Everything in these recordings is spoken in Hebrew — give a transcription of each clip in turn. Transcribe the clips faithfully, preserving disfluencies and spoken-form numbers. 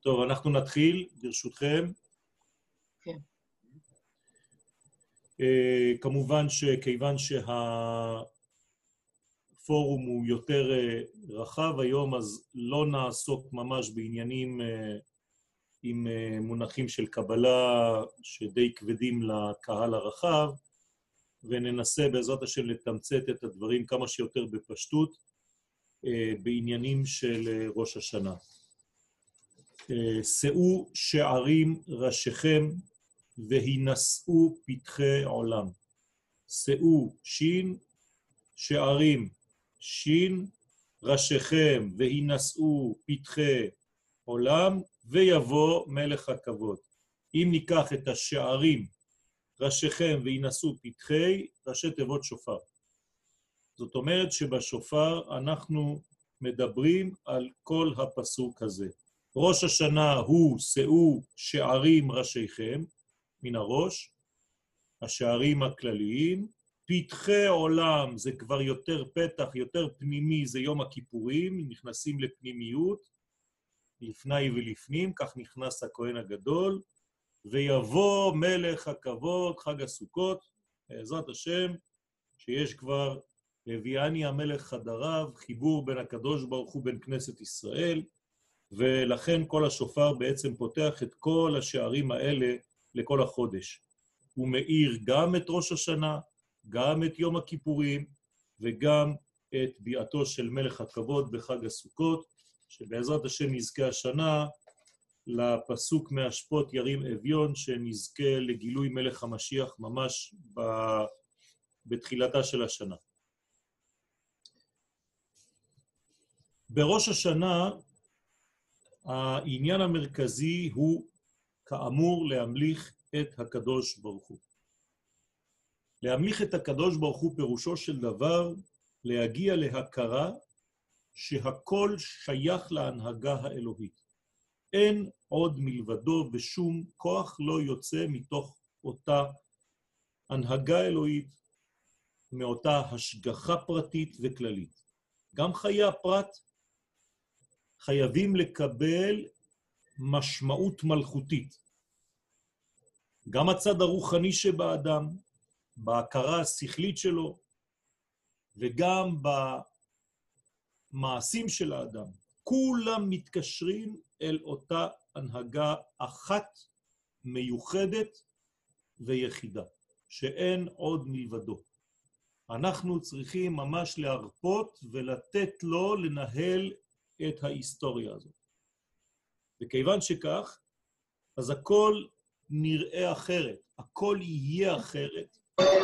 טוב, אנחנו נתחיל, ברשותכם. כן. Uh, כמובן שכיוון שהפורום הוא יותר uh, רחב היום, אז לא נעסוק ממש בעניינים uh, עם uh, מונחים של קבלה שדי כבדים לקהל הרחב, וננסה בעזרת השם לתמצת את הדברים כמה שיותר בפשטות uh, בעניינים של uh, ראש השנה. שאו שערים ראשיכם והינשאו פתחי עולם. שאו שין, שערים שין, ראשיכם והינשאו פתחי עולם, ויבוא מלך הכבוד. אם ניקח את השערים ראשיכם והינשאו פתחי, ראשי תיבות שופר. זאת אומרת שבשופר אנחנו מדברים על כל הפסוק הזה. ראש השנה הוא שאו שערים ראשיכם, מן הראש, השערים הכלליים, פתחי עולם זה כבר יותר פתח, יותר פנימי, זה יום הכיפורים, נכנסים לפנימיות, לפני ולפנים, כך נכנס הכהן הגדול, ויבוא מלך הכבוד, חג הסוכות, בעזרת השם, שיש כבר הביאני המלך חדריו, חיבור בין הקדוש ברוך הוא בין כנסת ישראל, ולכן כל השופר בעצם פותח את כל השערים האלה לכל החודש. הוא מאיר גם את ראש השנה, גם את יום הכיפורים, וגם את ביאתו של מלך הכבוד בחג הסוכות, שבעזרת השם נזכה השנה לפסוק מהשפוט ירים אביון, שנזכה לגילוי מלך המשיח ממש ב... בתחילתה של השנה. בראש השנה, העניין המרכזי הוא כאמור להמליך את הקדוש ברוך הוא. להמליך את הקדוש ברוך הוא פירושו של דבר להגיע להכרה שהכל שייך להנהגה האלוהית. אין עוד מלבדו ושום כוח לא יוצא מתוך אותה הנהגה אלוהית, מאותה השגחה פרטית וכללית. גם חיי הפרט חייבים לקבל משמעות מלכותית. גם הצד הרוחני שבאדם, בהכרה השכלית שלו, וגם במעשים של האדם, כולם מתקשרים אל אותה הנהגה אחת מיוחדת ויחידה, שאין עוד מלבדו. אנחנו צריכים ממש להרפות ולתת לו לנהל את ההיסטוריה הזאת. וכיוון שכך, אז הכל נראה אחרת, הכל יהיה אחרת.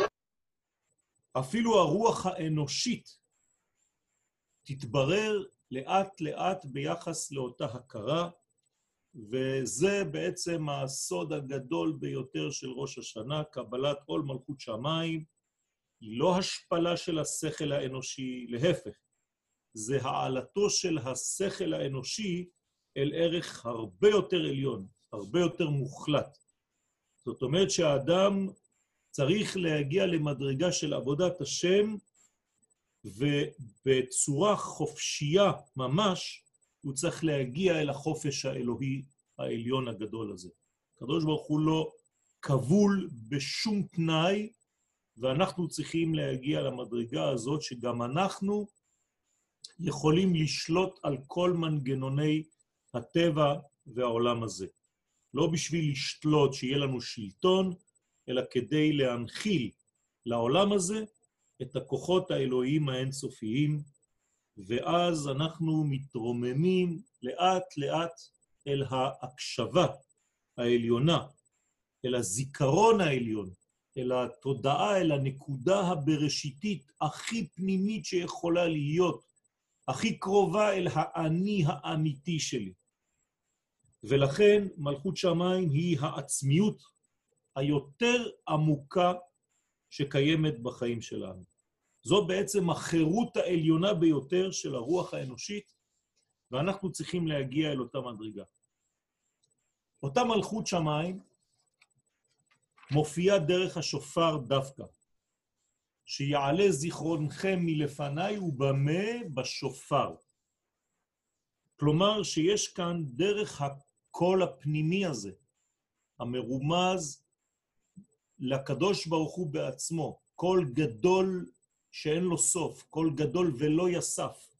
אפילו הרוח האנושית תתברר לאט לאט ביחס לאותה הכרה, וזה בעצם הסוד הגדול ביותר של ראש השנה, קבלת עול מלכות שמיים, היא לא השפלה של השכל האנושי, להפך. זה העלתו של השכל האנושי אל ערך הרבה יותר עליון, הרבה יותר מוחלט. זאת אומרת שהאדם צריך להגיע למדרגה של עבודת השם, ובצורה חופשייה ממש, הוא צריך להגיע אל החופש האלוהי העליון הגדול הזה. הקדוש ברוך הוא לא כבול בשום תנאי, ואנחנו צריכים להגיע למדרגה הזאת שגם אנחנו יכולים לשלוט על כל מנגנוני הטבע והעולם הזה. לא בשביל לשלוט שיהיה לנו שלטון, אלא כדי להנחיל לעולם הזה את הכוחות האלוהיים האינסופיים, ואז אנחנו מתרוממים לאט לאט אל ההקשבה העליונה, אל הזיכרון העליון, אל התודעה, אל הנקודה הבראשיתית הכי פנימית שיכולה להיות, הכי קרובה אל האני האמיתי שלי. ולכן מלכות שמיים היא העצמיות היותר עמוקה שקיימת בחיים שלנו. זו בעצם החירות העליונה ביותר של הרוח האנושית, ואנחנו צריכים להגיע אל אותה מדרגה. אותה מלכות שמיים מופיעה דרך השופר דווקא, שיעלה זיכרונכם מלפניי ובמה בשופר. כלומר שיש כאן דרך הקול הפנימי הזה, המרומז לקדוש ברוך הוא בעצמו, קול גדול שאין לו סוף, קול גדול ולא יסף.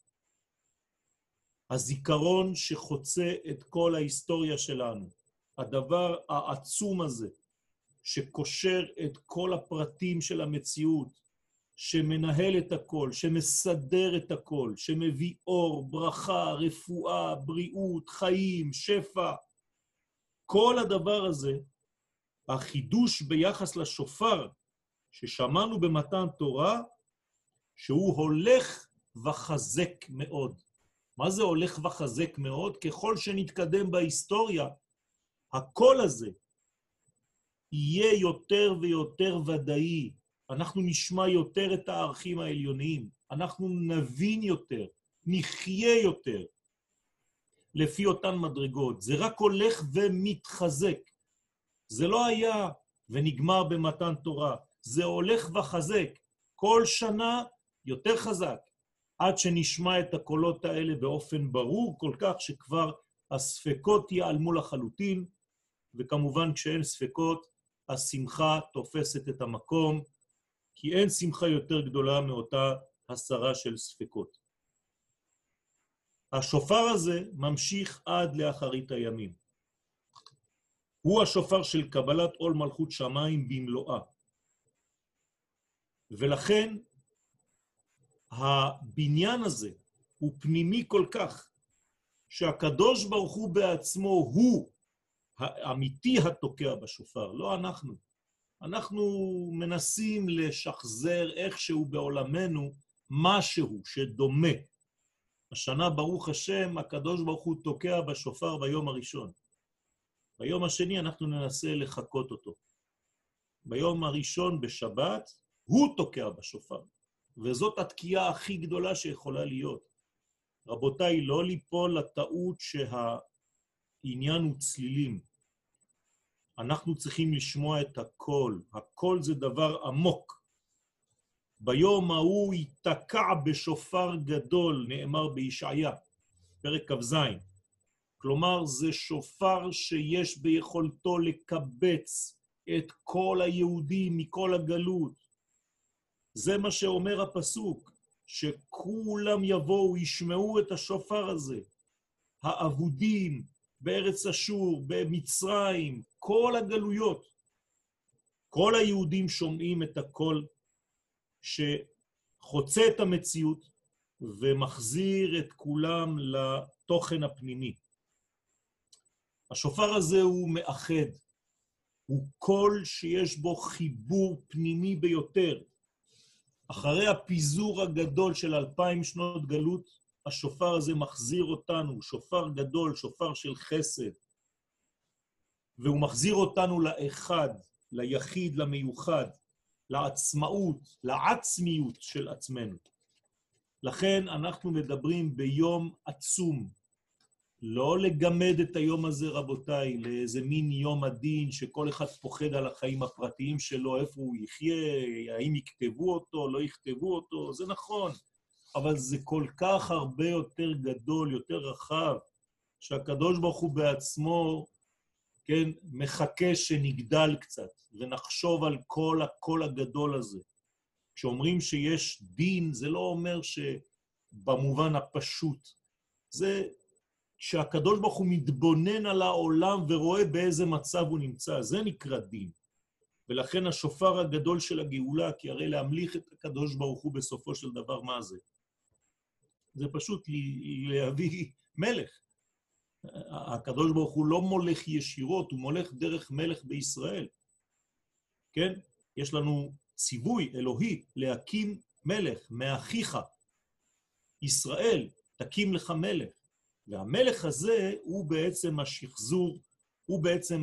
הזיכרון שחוצה את כל ההיסטוריה שלנו, הדבר העצום הזה, שקושר את כל הפרטים של המציאות, שמנהל את הכל, שמסדר את הכל, שמביא אור, ברכה, רפואה, בריאות, חיים, שפע. כל הדבר הזה, החידוש ביחס לשופר ששמענו במתן תורה, שהוא הולך וחזק מאוד. מה זה הולך וחזק מאוד? ככל שנתקדם בהיסטוריה, הקול הזה יהיה יותר ויותר ודאי. אנחנו נשמע יותר את הערכים העליוניים, אנחנו נבין יותר, נחיה יותר, לפי אותן מדרגות. זה רק הולך ומתחזק. זה לא היה ונגמר במתן תורה, זה הולך וחזק. כל שנה יותר חזק, עד שנשמע את הקולות האלה באופן ברור כל כך, שכבר הספקות ייעלמו לחלוטין, וכמובן כשאין ספקות, השמחה תופסת את המקום, כי אין שמחה יותר גדולה מאותה הסרה של ספקות. השופר הזה ממשיך עד לאחרית הימים. הוא השופר של קבלת עול מלכות שמיים במלואה. ולכן הבניין הזה הוא פנימי כל כך, שהקדוש ברוך הוא בעצמו הוא האמיתי התוקע בשופר, לא אנחנו. אנחנו מנסים לשחזר איכשהו בעולמנו משהו שדומה. השנה ברוך השם, הקדוש ברוך הוא תוקע בשופר ביום הראשון. ביום השני אנחנו ננסה לחכות אותו. ביום הראשון בשבת הוא תוקע בשופר. וזאת התקיעה הכי גדולה שיכולה להיות. רבותיי, לא ליפול לטעות שהעניין הוא צלילים. אנחנו צריכים לשמוע את הקול. הקול זה דבר עמוק. ביום ההוא ייתקע בשופר גדול, נאמר בישעיה, פרק כ"ז. כלומר, זה שופר שיש ביכולתו לקבץ את כל היהודים מכל הגלות. זה מה שאומר הפסוק, שכולם יבואו, ישמעו את השופר הזה. האבודים בארץ אשור, במצרים, כל הגלויות. כל היהודים שומעים את הקול שחוצה את המציאות ומחזיר את כולם לתוכן הפנימי. השופר הזה הוא מאחד, הוא קול שיש בו חיבור פנימי ביותר. אחרי הפיזור הגדול של אלפיים שנות גלות, השופר הזה מחזיר אותנו, שופר גדול, שופר של חסד, והוא מחזיר אותנו לאחד, ליחיד, למיוחד, לעצמאות, לעצמיות של עצמנו. לכן אנחנו מדברים ביום עצום, לא לגמד את היום הזה רבותיי, לאיזה מין יום הדין שכל אחד פוחד על החיים הפרטיים שלו, איפה הוא יחיה, האם יכתבו אותו, לא יכתבו אותו, זה נכון, אבל זה כל כך הרבה יותר גדול, יותר רחב, שהקדוש ברוך הוא בעצמו, כן, מחכה שנגדל קצת, ונחשוב על כל הקול הגדול הזה. כשאומרים שיש דין, זה לא אומר שבמובן הפשוט, זה שהקדוש ברוך הוא מתבונן על העולם ורואה באיזה מצב הוא נמצא, זה נקרא דין. ולכן השופר הגדול של הגאולה, כי הרי להמליך את הקדוש ברוך הוא בסופו של דבר, מה זה? זה פשוט להביא מלך. הקדוש ברוך הוא לא מולך ישירות, הוא מולך דרך מלך בישראל. כן? יש לנו ציווי אלוהי להקים מלך מאחיך. ישראל, תקים לך מלך. והמלך הזה הוא בעצם השחזור, הוא בעצם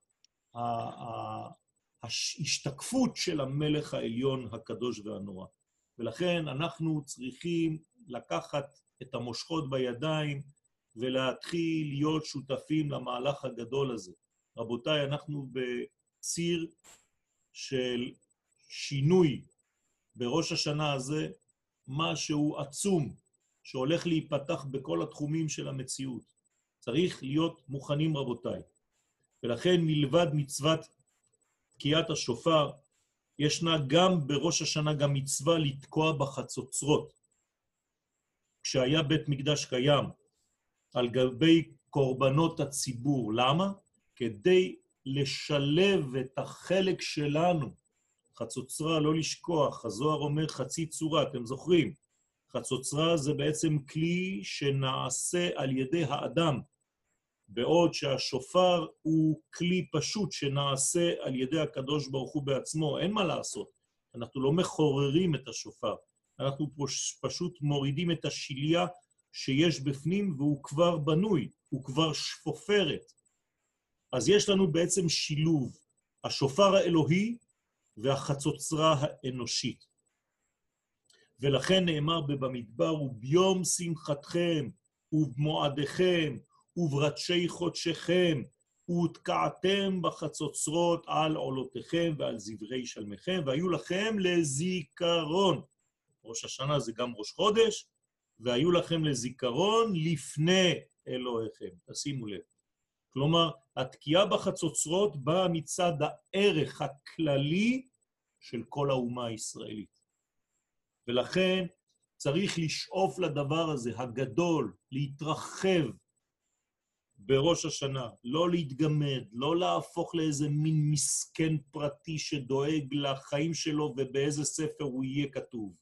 ההשתקפות של המלך העליון הקדוש והנורא. ולכן אנחנו צריכים לקחת את המושכות בידיים ולהתחיל להיות שותפים למהלך הגדול הזה. רבותיי, אנחנו בציר של שינוי בראש השנה הזה, משהו עצום שהולך להיפתח בכל התחומים של המציאות. צריך להיות מוכנים רבותיי. ולכן מלבד מצוות תקיעת השופר, ישנה גם בראש השנה גם מצווה לתקוע בחצוצרות. כשהיה בית מקדש קיים, על גבי קורבנות הציבור. למה? כדי לשלב את החלק שלנו. חצוצרה, לא לשכוח, הזוהר אומר חצי צורה, אתם זוכרים? חצוצרה זה בעצם כלי שנעשה על ידי האדם, בעוד שהשופר הוא כלי פשוט שנעשה על ידי הקדוש ברוך הוא בעצמו. אין מה לעשות, אנחנו לא מחוררים את השופר, אנחנו פשוט מורידים את השיליה שיש בפנים והוא כבר בנוי, הוא כבר שפופרת. אז יש לנו בעצם שילוב, השופר האלוהי והחצוצרה האנושית. ולכן נאמר במדבר, וביום שמחתכם, ובמועדיכם, וברדשי חודשכם, ותקעתם בחצוצרות על עולותיכם ועל זברי שלמכם, והיו לכם לזיכרון. ראש השנה זה גם ראש חודש, והיו לכם לזיכרון לפני אלוהיכם. תשימו לב. כלומר, התקיעה בחצוצרות באה מצד הערך הכללי של כל האומה הישראלית. ולכן צריך לשאוף לדבר הזה, הגדול, להתרחב בראש השנה, לא להתגמד, לא להפוך לאיזה מין מסכן פרטי שדואג לחיים שלו ובאיזה ספר הוא יהיה כתוב.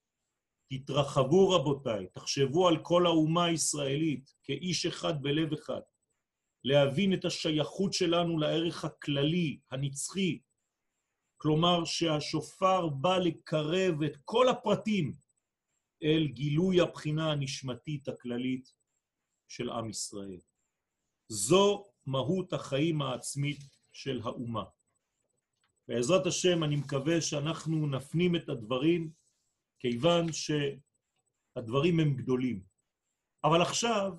תתרחבו רבותיי, תחשבו על כל האומה הישראלית כאיש אחד בלב אחד, להבין את השייכות שלנו לערך הכללי, הנצחי, כלומר שהשופר בא לקרב את כל הפרטים אל גילוי הבחינה הנשמתית הכללית של עם ישראל. זו מהות החיים העצמית של האומה. בעזרת השם אני מקווה שאנחנו נפנים את הדברים, כיוון שהדברים הם גדולים. אבל עכשיו,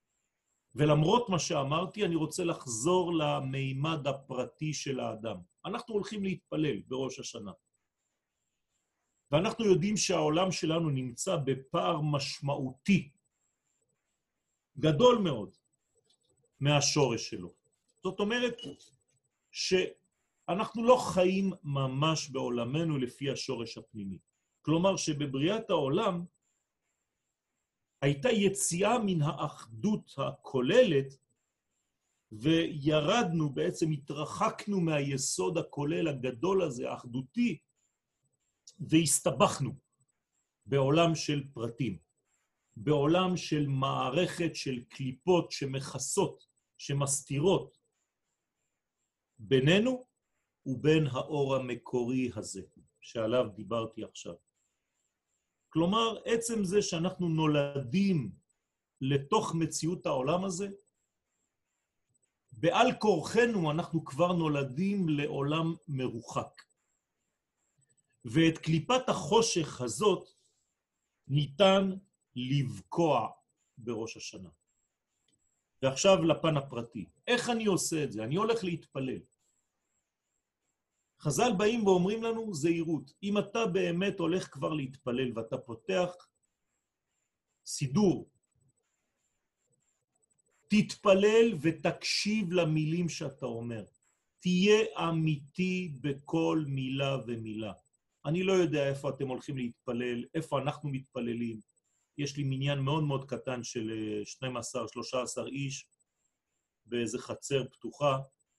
ולמרות מה שאמרתי, אני רוצה לחזור למימד הפרטי של האדם. אנחנו הולכים להתפלל בראש השנה. ואנחנו יודעים שהעולם שלנו נמצא בפער משמעותי, גדול מאוד, מהשורש שלו. זאת אומרת שאנחנו לא חיים ממש בעולמנו לפי השורש הפנימי. כלומר שבבריאת העולם הייתה יציאה מן האחדות הכוללת, וירדנו, בעצם התרחקנו מהיסוד הכולל הגדול הזה, האחדותי, והסתבכנו בעולם של פרטים, בעולם של מערכת של קליפות שמכסות, שמסתירות בינינו ובין האור המקורי הזה, שעליו דיברתי עכשיו. כלומר, עצם זה שאנחנו נולדים לתוך מציאות העולם הזה, בעל כורחנו אנחנו כבר נולדים לעולם מרוחק. ואת קליפת החושך הזאת ניתן לבקוע בראש השנה. ועכשיו לפן הפרטי. איך אני עושה את זה? אני הולך להתפלל. חז"ל באים ואומרים לנו זהירות. אם אתה באמת הולך כבר להתפלל ואתה פותח סידור, תתפלל ותקשיב למילים שאתה אומר. תהיה אמיתי בכל מילה ומילה. אני לא יודע איפה אתם הולכים להתפלל, איפה אנחנו מתפללים. יש לי מניין מאוד מאוד קטן של שנים עשר שלושה עשר איש באיזה חצר פתוחה.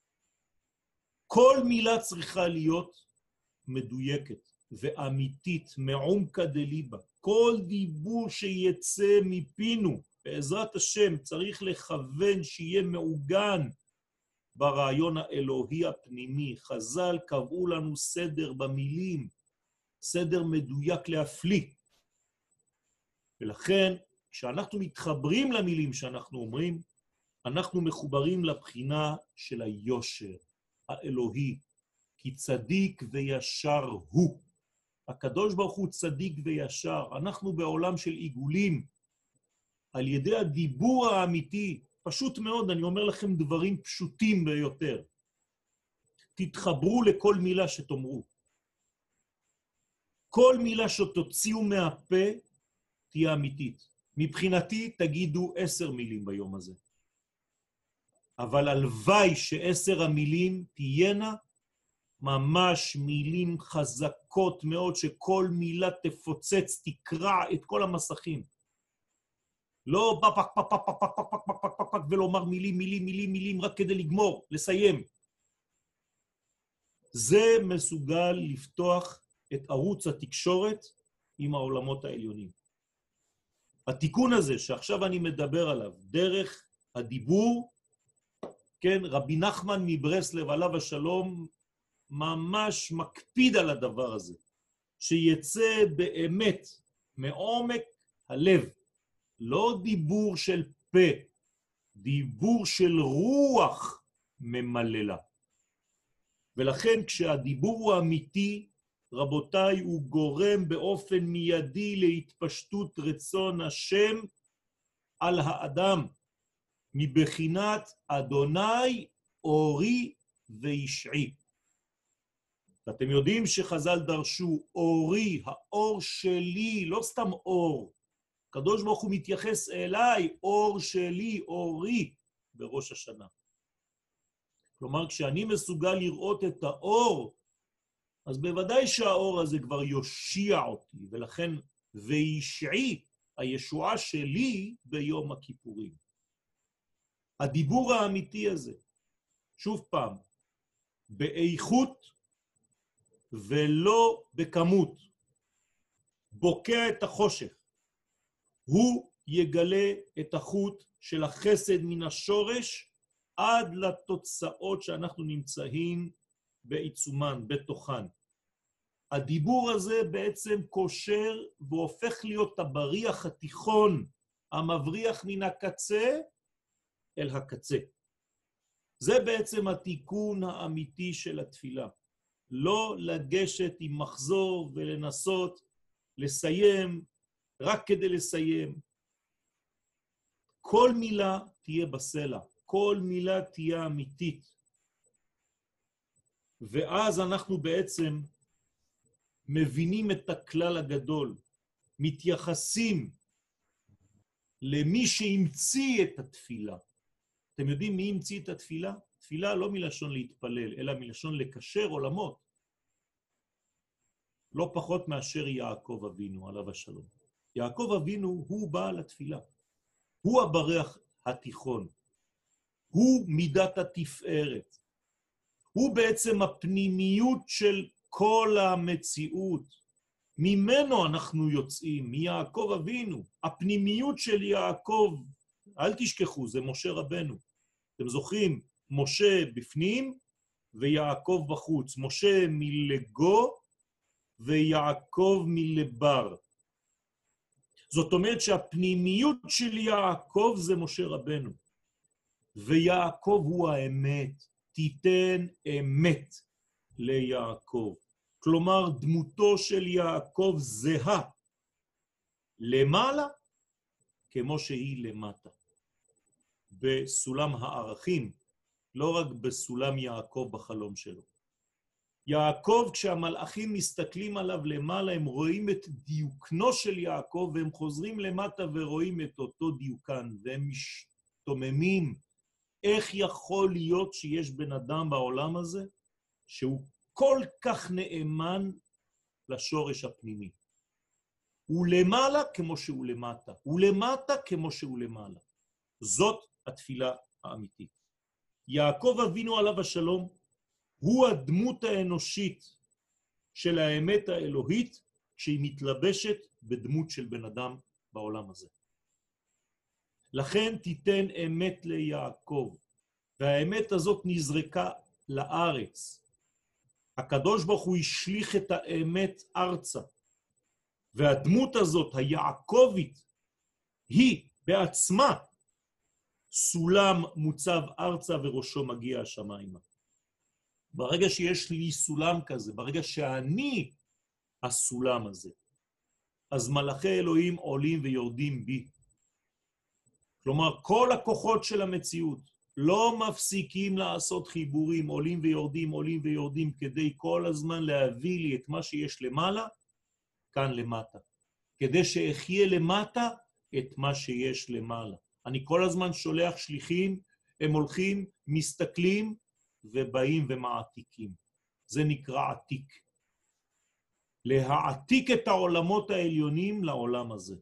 כל מילה צריכה להיות מדויקת ואמיתית, מעומקא דליבא. כל דיבור שיצא מפינו, בעזרת השם, צריך לכוון שיהיה מעוגן ברעיון האלוהי הפנימי. חז"ל קבעו לנו סדר במילים, סדר מדויק להפליא. ולכן, כשאנחנו מתחברים למילים שאנחנו אומרים, אנחנו מחוברים לבחינה של היושר האלוהי, כי צדיק וישר הוא. הקדוש ברוך הוא צדיק וישר. אנחנו בעולם של עיגולים, על ידי הדיבור האמיתי, פשוט מאוד, אני אומר לכם דברים פשוטים ביותר. תתחברו לכל מילה שתאמרו. כל מילה שתוציאו מהפה תהיה אמיתית. מבחינתי תגידו עשר מילים ביום הזה. אבל הלוואי שעשר המילים תהיינה ממש מילים חזקות מאוד, שכל מילה תפוצץ, תקרע את כל המסכים. לא פק פק פק פק פק פק פק פק פק פק ולומר מילים, מילים, מילים, מילים, רק כדי לגמור, לסיים. זה מסוגל לפתוח את ערוץ התקשורת עם העולמות העליונים. התיקון הזה שעכשיו אני מדבר עליו, דרך הדיבור, כן, רבי נחמן מברסלב עליו השלום, ממש מקפיד על הדבר הזה, שיצא באמת מעומק הלב, לא דיבור של פה, דיבור של רוח ממללה. ולכן כשהדיבור הוא אמיתי, רבותיי, הוא גורם באופן מיידי להתפשטות רצון השם על האדם, מבחינת אדוני אורי וישעי. ואתם יודעים שחז"ל דרשו, אורי, האור שלי, לא סתם אור. הקדוש ברוך הוא מתייחס אליי, אור שלי, אורי, בראש השנה. כלומר, כשאני מסוגל לראות את האור, אז בוודאי שהאור הזה כבר יושיע אותי, ולכן וישעי, הישועה שלי ביום הכיפורים. הדיבור האמיתי הזה, שוב פעם, באיכות ולא בכמות, בוקע את החושך, הוא יגלה את החוט של החסד מן השורש, עד לתוצאות שאנחנו נמצאים בעיצומן, בתוכן. הדיבור הזה בעצם קושר והופך להיות הבריח התיכון, המבריח מן הקצה אל הקצה. זה בעצם התיקון האמיתי של התפילה. לא לגשת עם מחזור ולנסות לסיים רק כדי לסיים. כל מילה תהיה בסלע, כל מילה תהיה אמיתית. ואז אנחנו בעצם מבינים את הכלל הגדול, מתייחסים למי שהמציא את התפילה. אתם יודעים מי המציא את התפילה? תפילה לא מלשון להתפלל, אלא מלשון לקשר עולמות. לא פחות מאשר יעקב אבינו, עליו השלום. יעקב אבינו הוא בעל התפילה. הוא הבריח התיכון. הוא מידת התפארת. הוא בעצם הפנימיות של כל המציאות. ממנו אנחנו יוצאים, מיעקב אבינו. הפנימיות של יעקב, אל תשכחו, זה משה רבנו. אתם זוכרים, משה בפנים ויעקב בחוץ. משה מלגו ויעקב מלבר. זאת אומרת שהפנימיות של יעקב זה משה רבנו. ויעקב הוא האמת. תיתן אמת ליעקב. כלומר, דמותו של יעקב זהה למעלה כמו שהיא למטה. בסולם הערכים, לא רק בסולם יעקב בחלום שלו. יעקב, כשהמלאכים מסתכלים עליו למעלה, הם רואים את דיוקנו של יעקב, והם חוזרים למטה ורואים את אותו דיוקן, והם משתוממים. איך יכול להיות שיש בן אדם בעולם הזה, שהוא כל כך נאמן לשורש הפנימי? הוא למעלה כמו שהוא למטה, הוא למטה כמו שהוא למעלה. זאת התפילה האמיתית. יעקב אבינו עליו השלום, הוא הדמות האנושית של האמת האלוהית, כשהיא מתלבשת בדמות של בן אדם בעולם הזה. לכן תיתן אמת ליעקב, והאמת הזאת נזרקה לארץ. הקדוש ברוך הוא השליך את האמת ארצה, והדמות הזאת, היעקבית, היא בעצמה סולם מוצב ארצה וראשו מגיע השמיימה. ברגע שיש לי סולם כזה, ברגע שאני הסולם הזה, אז מלאכי אלוהים עולים ויורדים בי. כלומר, כל הכוחות של המציאות לא מפסיקים לעשות חיבורים, עולים ויורדים, עולים ויורדים, כדי כל הזמן להביא לי את מה שיש למעלה, כאן למטה. כדי שאחיה למטה את מה שיש למעלה. אני כל הזמן שולח שליחים הם הולכים, מסתכלים ובאים ומעתיקים. זה נקרא עתיק. להעתיק את העולמות העליונים לעולם הזה.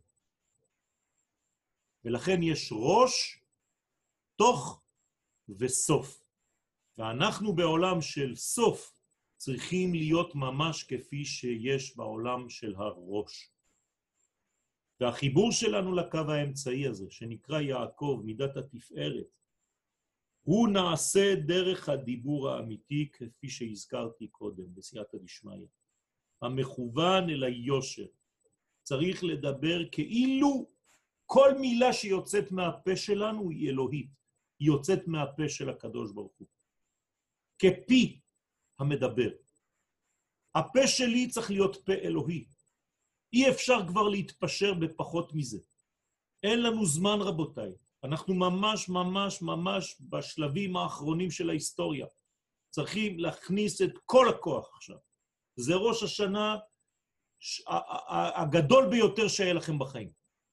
ולכן יש ראש, תוך וסוף. ואנחנו בעולם של סוף צריכים להיות ממש כפי שיש בעולם של הראש. והחיבור שלנו לקו האמצעי הזה, שנקרא יעקב, מידת התפארת, הוא נעשה דרך הדיבור האמיתי, כפי שהזכרתי קודם, בסייעתא דשמיא. המכוון אל היושר. צריך לדבר כאילו כל מילה שיוצאת מהפה שלנו היא אלוהית. היא יוצאת מהפה של הקדוש ברוך הוא. כפי המדבר. הפה שלי צריך להיות פה אלוהי. אי אפשר כבר להתפשר בפחות מזה. אין לנו זמן, רבותיי. אנחנו ממש ממש ממש בשלבים האחרונים של ההיסטוריה. צריכים להכניס את כל הכוח עכשיו. זה ראש השנה הגדול ביותר שהיה לכם בחיים.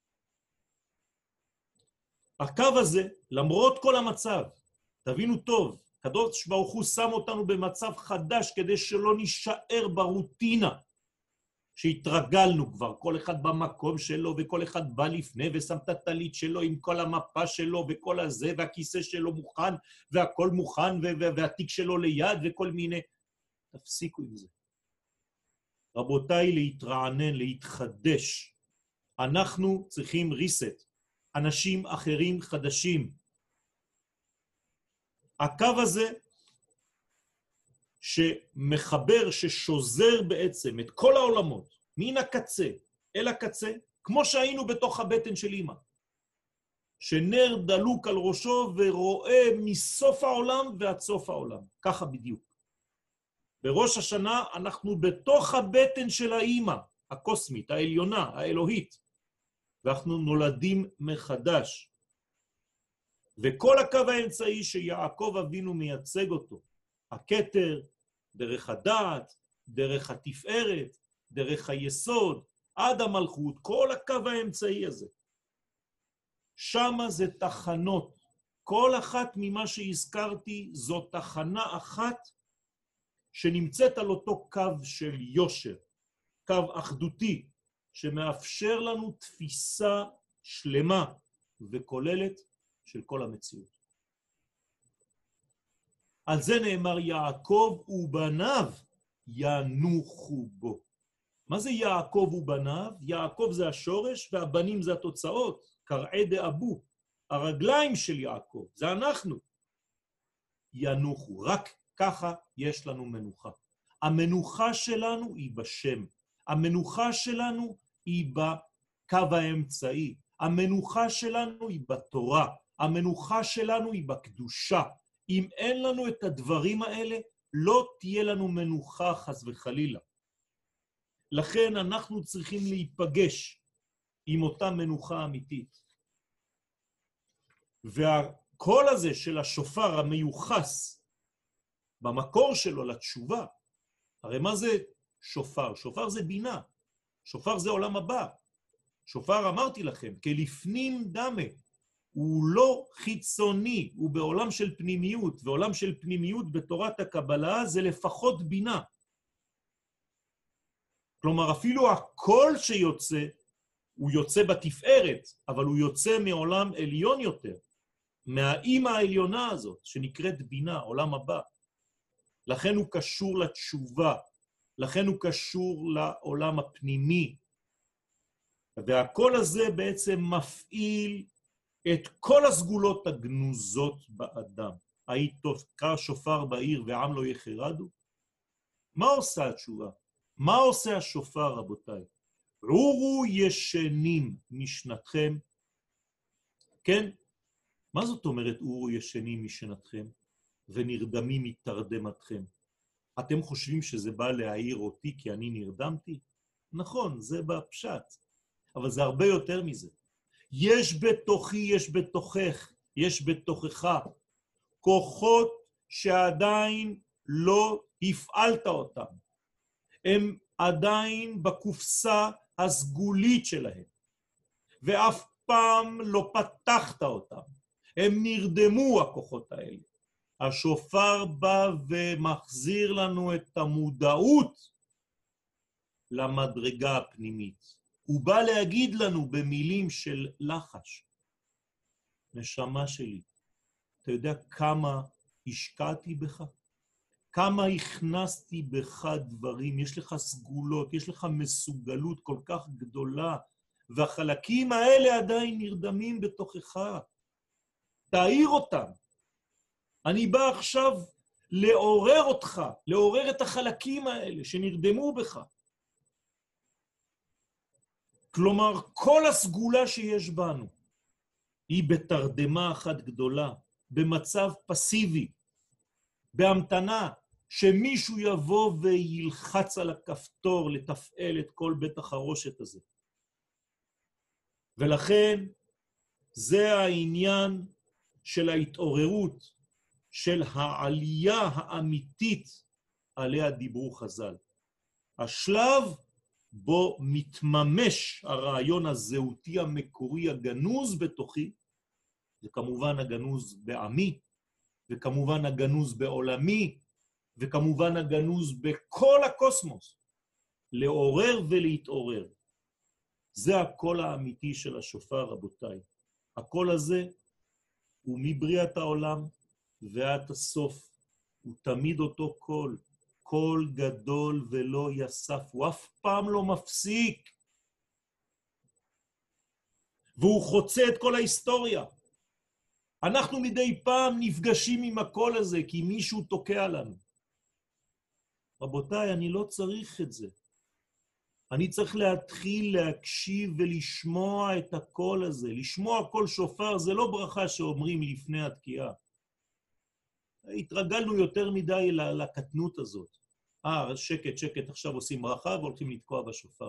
הקו הזה, למרות כל המצב, תבינו טוב, הקדוש ברוך הוא שם אותנו במצב חדש כדי שלא נשאר ברוטינה שהתרגלנו כבר, כל אחד במקום שלו וכל אחד בא לפני ושם את הטלית שלו עם כל המפה שלו וכל הזה והכיסא שלו מוכן והכל מוכן והתיק שלו ליד וכל מיני. תפסיקו עם זה. רבותיי, להתרענן, להתחדש. אנחנו צריכים ריסט. אנשים אחרים חדשים. הקו הזה שמחבר, ששוזר בעצם את כל העולמות, מן הקצה אל הקצה, כמו שהיינו בתוך הבטן של אמא, שנר דלוק על ראשו ורואה מסוף העולם ועד סוף העולם. ככה בדיוק. בראש השנה אנחנו בתוך הבטן של האמא, הקוסמית, העליונה, האלוהית, ואנחנו נולדים מחדש. וכל הקו האמצעי שיעקב אבינו מייצג אותו, הכתר, דרך הדעת, דרך התפארת, דרך היסוד, עד המלכות, כל הקו האמצעי הזה. שמה זה תחנות. כל אחת ממה שהזכרתי זו תחנה אחת שנמצאת על אותו קו של יושר, קו אחדותי, שמאפשר לנו תפיסה שלמה וכוללת של כל המציאות. על זה נאמר יעקב ובניו ינוחו בו. מה זה יעקב ובניו? יעקב זה השורש והבנים זה התוצאות, קרעי דאבו, הרגליים של יעקב, זה אנחנו. ינוחו, רק ככה יש לנו מנוחה. המנוחה שלנו היא בשם, המנוחה שלנו היא בקו האמצעי, המנוחה שלנו היא בתורה, המנוחה שלנו היא בקדושה. אם אין לנו את הדברים האלה, לא תהיה לנו מנוחה חס וחלילה. לכן אנחנו צריכים להיפגש עם אותה מנוחה אמיתית. והקול הזה של השופר המיוחס במקור שלו לתשובה, הרי מה זה שופר? שופר זה בינה, שופר זה עולם הבא. שופר אמרתי לכם, כלפנים דמה, הוא לא חיצוני, הוא בעולם של פנימיות, ועולם של פנימיות בתורת הקבלה זה לפחות בינה. כלומר, אפילו הקול שיוצא, הוא יוצא בתפארת, אבל הוא יוצא מעולם עליון יותר, מהאימא העליונה הזאת, שנקראת בינה, עולם הבא. לכן הוא קשור לתשובה, לכן הוא קשור לעולם הפנימי. והקול הזה בעצם מפעיל את כל הסגולות הגנוזות באדם. היית תוקע שופר בעיר ועם לא יחרדו? מה עושה התשובה? מה עושה השופר, רבותיי? עורו ישנים משנתכם. כן? מה זאת אומרת עורו ישנים משנתכם ונרדמים מתרדמתכם? אתם חושבים שזה בא להעיר אותי כי אני נרדמתי? נכון, זה בפשט. אבל זה הרבה יותר מזה. יש בתוכי, יש בתוכך, יש בתוכך כוחות שעדיין לא הפעלת אותם. הם עדיין בקופסה הסגולית שלהם, ואף פעם לא פתחת אותם, הם נרדמו הכוחות האלה. השופר בא ומחזיר לנו את המודעות למדרגה הפנימית. הוא בא להגיד לנו במילים של לחש. נשמה שלי, אתה יודע כמה השקעתי בך? כמה הכנסתי בך דברים? יש לך סגולות, יש לך מסוגלות כל כך גדולה, והחלקים האלה עדיין נרדמים בתוכך. תאיר אותם. אני בא עכשיו לעורר אותך, לעורר את החלקים האלה שנרדמו בך. כלומר, כל הסגולה שיש בנו היא בתרדמה אחת גדולה, במצב פסיבי, בהמתנה, שמישהו יבוא וילחץ על הכפתור לתפעל את כל בית החרושת הזה. ולכן זה העניין של ההתעוררות, של העלייה האמיתית עליה דיברו חז"ל. השלב בו מתממש הרעיון הזהותי המקורי הגנוז בתוכי, זה כמובן הגנוז בעמי, וכמובן הגנוז בעולמי, וכמובן הגנוז בכל הקוסמוס, לעורר ולהתעורר. זה הקול האמיתי של השופר, רבותיי. הקול הזה הוא מבריאת העולם ועד הסוף, הוא תמיד אותו קול, קול גדול ולא יסף, הוא אף פעם לא מפסיק. והוא חוצה את כל ההיסטוריה. אנחנו מדי פעם נפגשים עם הקול הזה, כי מישהו תוקע לנו. רבותיי, אני לא צריך את זה. אני צריך להתחיל להקשיב ולשמוע את הקול הזה. לשמוע קול שופר זה לא ברכה שאומרים לפני התקיעה. התרגלנו יותר מדי לקטנות הזאת. אה, שקט, שקט, עכשיו עושים ברכה והולכים לתקוע בשופר.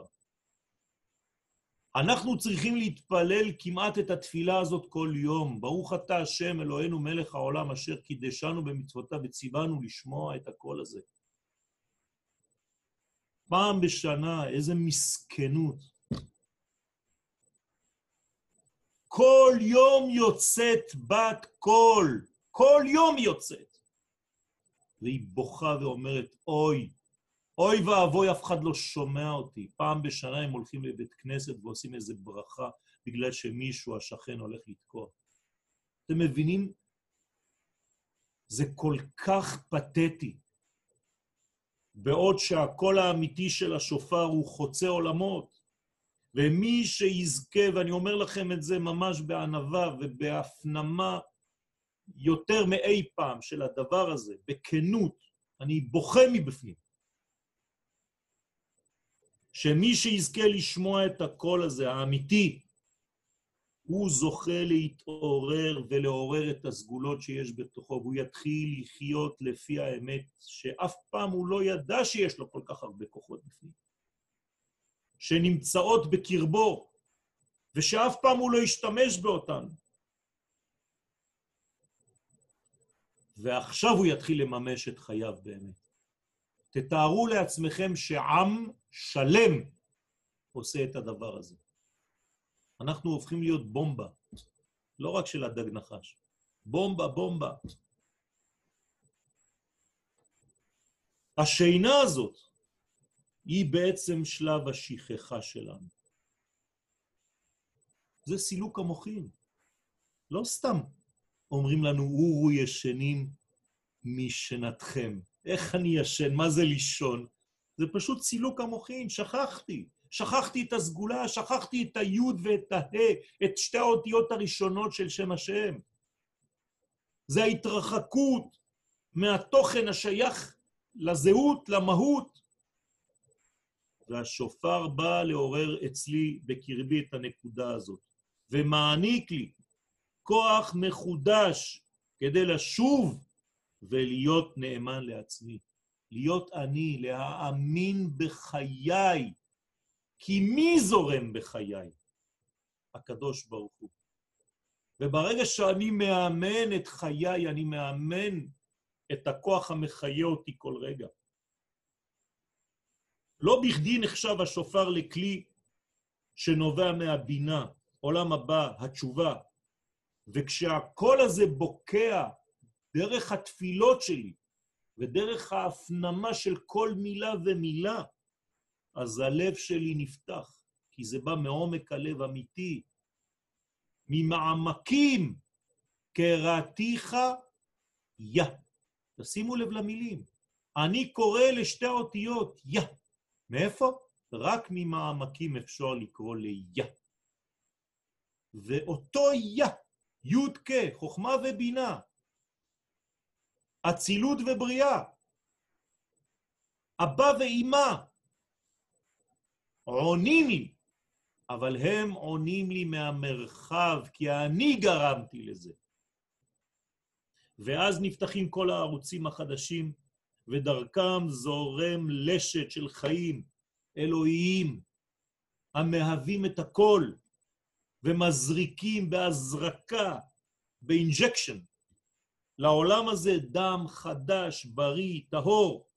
אנחנו צריכים להתפלל כמעט את התפילה הזאת כל יום. ברוך אתה השם אלוהינו מלך העולם אשר קידשנו במצוותיו וציוונו לשמוע את הקול הזה. פעם בשנה, איזה מסכנות. כל יום יוצאת בת קול, כל יום יוצאת. והיא בוכה ואומרת, אוי, אוי ואבוי, אף אחד לא שומע אותי. פעם בשנה הם הולכים לבית כנסת ועושים איזה ברכה, בגלל שמישהו, השכן, הולך לתקוע. אתם מבינים? זה כל כך פתטי. בעוד שהקול האמיתי של השופר הוא חוצה עולמות, ומי שיזכה, ואני אומר לכם את זה ממש בענווה ובהפנמה יותר מאי פעם של הדבר הזה, בכנות, אני בוכה מבפנים, שמי שיזכה לשמוע את הקול הזה, האמיתי, הוא זוכה להתעורר ולעורר את הסגולות שיש בתוכו, והוא יתחיל לחיות לפי האמת, שאף פעם הוא לא ידע שיש לו כל כך הרבה כוחות בפנים, שנמצאות בקרבו, ושאף פעם הוא לא ישתמש באותן. ועכשיו הוא יתחיל לממש את חייו באמת. תתארו לעצמכם שעם שלם עושה את הדבר הזה. אנחנו הופכים להיות בומבה, לא רק של הדג נחש. בומבה, בומבה. השינה הזאת היא בעצם שלב השכחה שלנו. זה סילוק המוחין. לא סתם אומרים לנו, אורו ישנים משנתכם. איך אני ישן? מה זה לישון? זה פשוט סילוק המוחין, שכחתי. שכחתי את הסגולה, שכחתי את היוד ואת ההא, את שתי האותיות הראשונות של שם השם. זה ההתרחקות מהתוכן השייך לזהות, למהות. והשופר בא לעורר אצלי בקרבי את הנקודה הזאת, ומעניק לי כוח מחודש כדי לשוב ולהיות נאמן לעצמי. להיות אני, להאמין בחיי, כי מי זורם בחיי? הקדוש ברוך הוא. וברגע שאני מאמן את חיי, אני מאמן את הכוח המחיה אותי כל רגע. לא בכדי נחשב השופר לכלי שנובע מהבינה, עולם הבא, התשובה. וכשהקול הזה בוקע דרך התפילות שלי, ודרך ההפנמה של כל מילה ומילה, אז הלב שלי נפתח, כי זה בא מעומק הלב אמיתי, ממעמקים, קראתיך יא. תשימו לב למילים. אני קורא לשתי האותיות יא. מאיפה? רק ממעמקים אפשר לקרוא ליה. ואותו יה, י' כ', חוכמה ובינה, אצילות ובריאה, אבא ואמא, עונים לי, אבל הם עונים לי מהמרחב, כי אני גרמתי לזה. ואז נפתחים כל הערוצים החדשים, ודרכם זורם לשת של חיים אלוהיים, המהווים את הכל, ומזריקים בהזרקה, באינג'קשן, לעולם הזה דם חדש, בריא, טהור.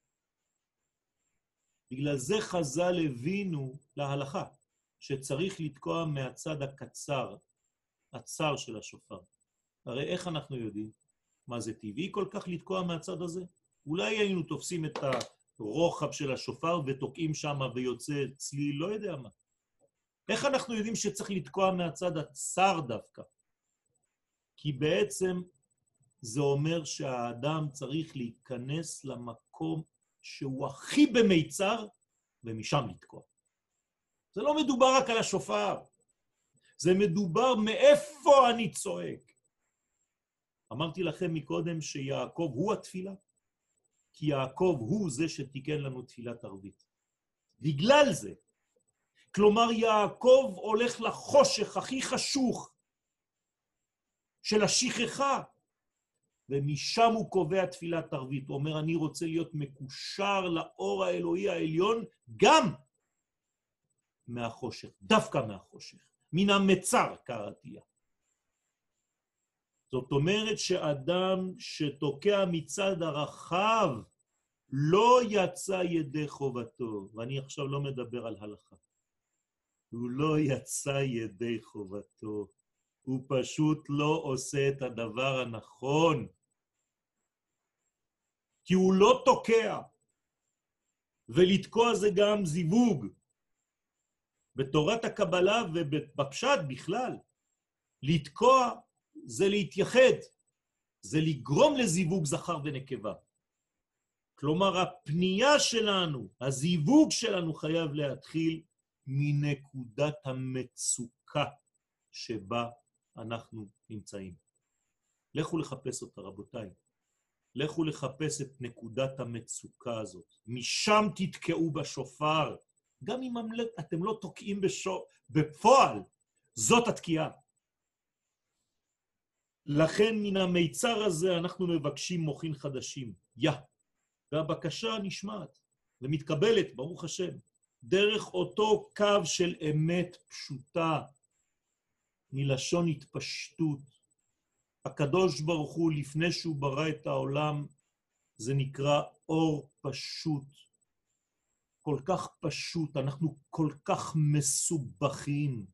בגלל זה חז"ל הבינו להלכה, שצריך לתקוע מהצד הקצר, הצר של השופר. הרי איך אנחנו יודעים? מה זה טבעי כל כך לתקוע מהצד הזה? אולי היינו תופסים את הרוחב של השופר ותוקעים שם ויוצא צליל, לא יודע מה. איך אנחנו יודעים שצריך לתקוע מהצד הצר דווקא? כי בעצם זה אומר שהאדם צריך להיכנס למקום שהוא הכי במיצר, ומשם לתקוע. זה לא מדובר רק על השופר, זה מדובר מאיפה אני צועק. אמרתי לכם מקודם שיעקב הוא התפילה, כי יעקב הוא זה שתיקן לנו תפילת ערבית. בגלל זה, כלומר יעקב הולך לחושך הכי חשוך של השכחה, ומשם הוא קובע תפילת ערבית. הוא אומר, אני רוצה להיות מקושר לאור האלוהי העליון, גם מהחושך, דווקא מהחושך, מן המצר קראתיה. זאת אומרת שאדם שתוקע מצד הרחב, לא יצא ידי חובתו, ואני עכשיו לא מדבר על הלכה. הוא לא יצא ידי חובתו, הוא פשוט לא עושה את הדבר הנכון, כי הוא לא תוקע, ולתקוע זה גם זיווג. בתורת הקבלה ובפשט בכלל, לתקוע זה להתייחד, זה לגרום לזיווג זכר ונקבה. כלומר, הפנייה שלנו, הזיווג שלנו חייב להתחיל מנקודת המצוקה שבה אנחנו נמצאים. לכו לחפש אותה, רבותיי. לכו לחפש את נקודת המצוקה הזאת. משם תתקעו בשופר. גם אם אתם לא תוקעים בשופר, בפועל, זאת התקיעה. לכן מן המיצר הזה אנחנו מבקשים מוחין חדשים. יא. והבקשה נשמעת ומתקבלת, ברוך השם, דרך אותו קו של אמת פשוטה, מלשון התפשטות. הקדוש ברוך הוא, לפני שהוא ברא את העולם, זה נקרא אור פשוט. כל כך פשוט, אנחנו כל כך מסובכים.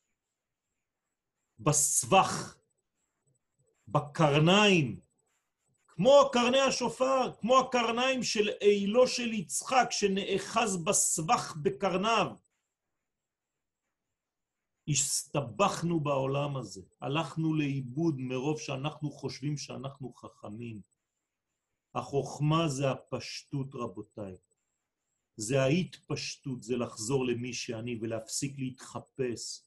בסבך, בקרניים, כמו קרני השופר, כמו הקרניים של אילו של יצחק, שנאחז בסבך בקרניו. הסתבכנו בעולם הזה, הלכנו לאיבוד מרוב שאנחנו חושבים שאנחנו חכמים. החוכמה זה הפשטות, רבותיי. זה ההתפשטות, זה לחזור למי שאני ולהפסיק להתחפש.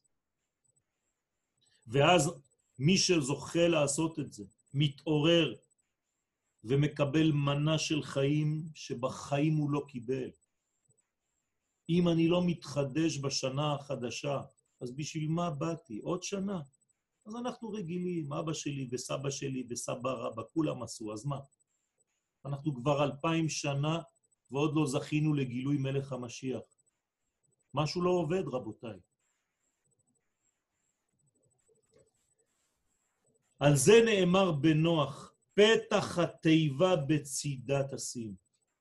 ואז מי שזוכה לעשות את זה, מתעורר ומקבל מנה של חיים שבחיים הוא לא קיבל. אם אני לא מתחדש בשנה החדשה, אז בשביל מה באתי? עוד שנה. אז אנחנו רגילים, אבא שלי וסבא שלי וסבא רבא, כולם עשו, אז מה? אנחנו כבר אלפיים שנה ועוד לא זכינו לגילוי מלך המשיח. משהו לא עובד, רבותיי. על זה נאמר בנוח, פתח התיבה בצידה תשים.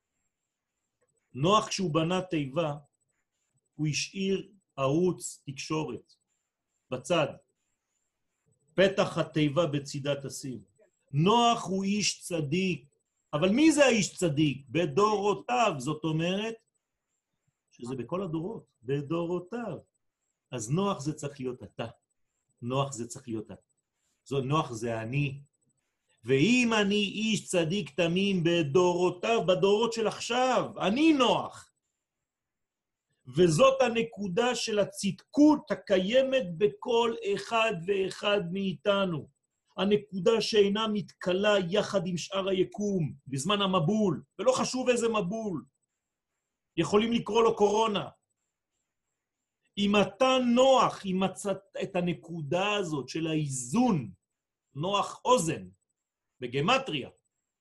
נוח כשהוא בנה תיבה, הוא השאיר ערוץ תקשורת בצד. פתח התיבה בצידת הסים. נוח הוא איש צדיק, אבל מי זה האיש צדיק? בדורותיו, זאת אומרת, שזה בכל הדורות, בדורותיו. אז נוח זה צריך להיות אתה. נוח זה צריך להיות אתה. זו נוח זה אני. ואם אני איש צדיק תמים בדורותיו, בדורות של עכשיו, אני נוח. וזאת הנקודה של הצדקות הקיימת בכל אחד ואחד מאיתנו. הנקודה שאינה מתקלה יחד עם שאר היקום, בזמן המבול, ולא חשוב איזה מבול. יכולים לקרוא לו קורונה. אם אתה נוח, אם מצאת את הנקודה הזאת של האיזון, נוח אוזן, בגמטריה,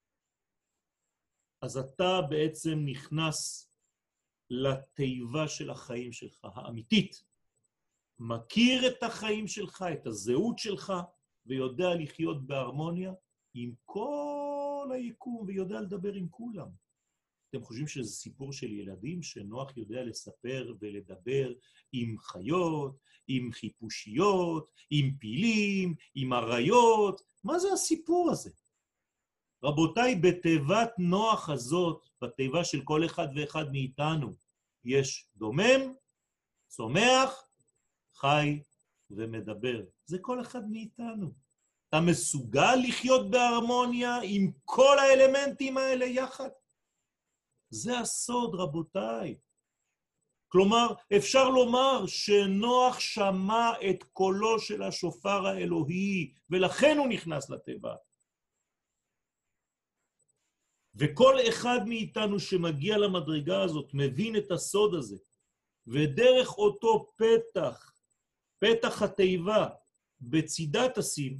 אז אתה בעצם נכנס לתיבה של החיים שלך, האמיתית. מכיר את החיים שלך, את הזהות שלך, ויודע לחיות בהרמוניה עם כל היקום, ויודע לדבר עם כולם. אתם חושבים שזה סיפור של ילדים שנוח יודע לספר ולדבר עם חיות, עם חיפושיות, עם פילים, עם אריות? מה זה הסיפור הזה? רבותיי, בתיבת נוח הזאת, בתיבה של כל אחד ואחד מאיתנו, יש דומם, צומח, חי ומדבר. זה כל אחד מאיתנו. אתה מסוגל לחיות בהרמוניה עם כל האלמנטים האלה יחד? זה הסוד, רבותיי. כלומר, אפשר לומר שנוח שמע את קולו של השופר האלוהי, ולכן הוא נכנס לתיבה. וכל אחד מאיתנו שמגיע למדרגה הזאת מבין את הסוד הזה, ודרך אותו פתח, פתח התיבה, בצידת הסים,